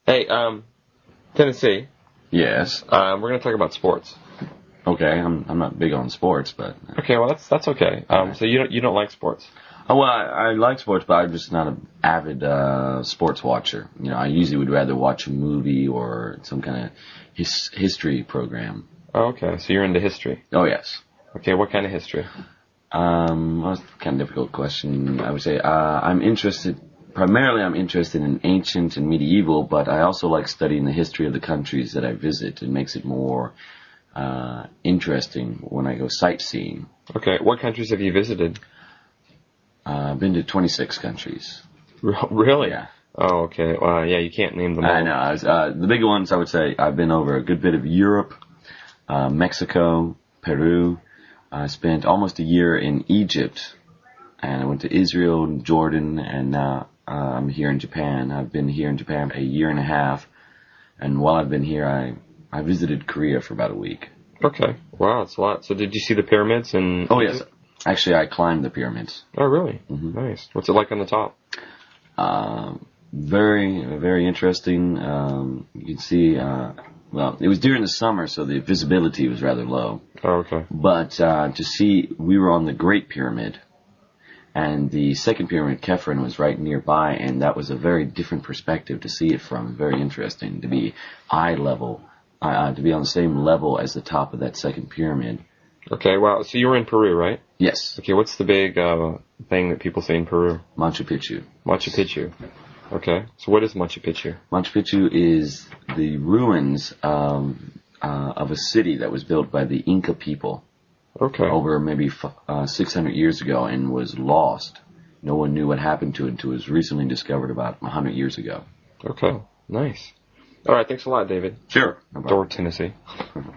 Hey, Tennessee. Yes. We're going to talk about sports. Okay, I'm not big on sports, but Okay, well that's okay. So you don't like sports? oh well, I like sports, but I'm just not an avid sports watcher. I usually would rather watch a movie or some kind of history program. Oh, okay, so you're into history. Oh yes. Okay, what kind of history? Well, that's kind of difficult question. I would say I'm interested. Primarily, I'm interested in ancient and medieval, but I also like studying the history of the countries that I visit. It makes it more interesting when I go sightseeing. Okay, what countries have you visited? I've been to 26 countries. Really? Yeah. Oh, okay. Well, yeah, you can't name them all. I know. The big ones, I would say, I've been over a good bit of Europe, Mexico, Peru. I spent almost a year in Egypt, and I went to Israel and Jordan, and now I'm here in Japan. I've been here in Japan a year and a half, and while I've been here, I visited Korea for about a week. Okay. Wow, that's a lot. So did you see the pyramids in Oh, Egypt? yes. Actually, I climbed the pyramids. Oh, really? Mhm. Nice. What's it like on the top? Very, very interesting. You can see, well, it was during the summer, so the visibility was rather low. Oh, okay. But to see, we were on the Great Pyramid, and the second pyramid, Kefren, was right nearby, and that was a very different perspective to see it from. Very interesting to be eye level, to be on the same level as the top of that second pyramid. Okay, wow. So you were in Peru, right? Yes, Okay, what's the big thing that people say in Peru? Machu Picchu. Machu Picchu. Okay, so what is Machu Picchu? Machu Picchu is the ruins of a city that was built by the Inca people Okay. over maybe 600 years ago and was lost. No one knew what happened to it until it was recently discovered about 100 years ago. Okay, nice. All right, thanks a lot, David. Sure. Door, Tennessee.